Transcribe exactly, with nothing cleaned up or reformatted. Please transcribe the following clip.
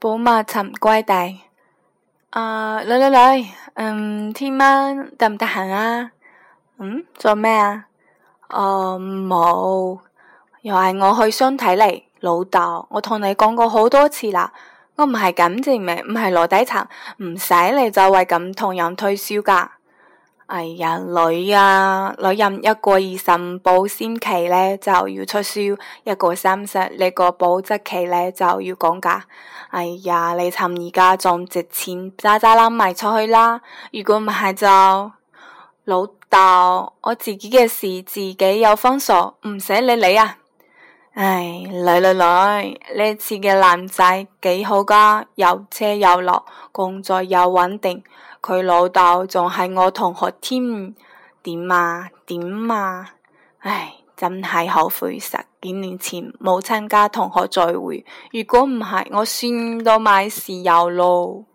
寶馬尋歸地。啊，女女女，嗯，聽晚得唔得閒啊？嗯，做咩啊？哦，冇，又係我去相睇嚟。老豆，我同你講過好多次啦，我唔係感情味，唔係籮底層，唔使你就為咁同人推銷噶。哎呀，女啊，女人一個二十五保鮮期呢就要促銷，一個三十，呢個保質期呢就要講價。哎呀，你趁而家仲值錢，渣渣冧賣出去啦！如果唔係就老豆，我自己嘅事自己有分數，唔使理你啊！唉，女女女，呢次嘅男仔幾好噶，有車有樓，工作又穩定，佢老豆仲係我同學添，點啊點啊！唉，真係後悔十幾年前冇參加同學聚會，如果唔係，我算到買豉油咯。